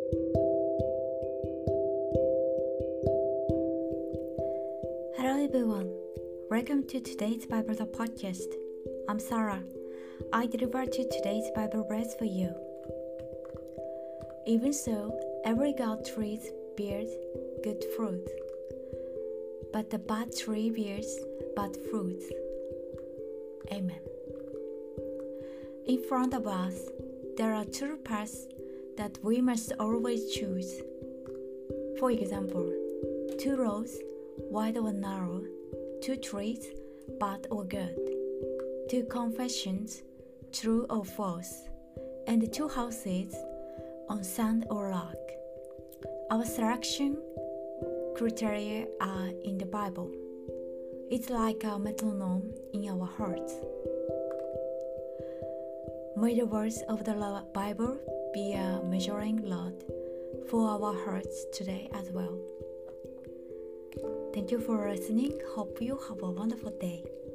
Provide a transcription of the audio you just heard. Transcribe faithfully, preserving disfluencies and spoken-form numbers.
Hello everyone, welcome to today's Bible podcast. I'm Sarah. I deliver to today's Bible verse for you. Even so, every good tree bears good fruit, but the bad tree bears bad fruit. Amen. In front of us, there are two paths that we must always choose. For example, two roads, wide or narrow, two trees, bad or good, two confessions, true or false, and two houses, on sand or rock. Our selection criteria are in the Bible. It's like a metronome in our hearts. May the words of the Bible be a measuring rod for our hearts today as well. Thank you for listening. Hope you have a wonderful day.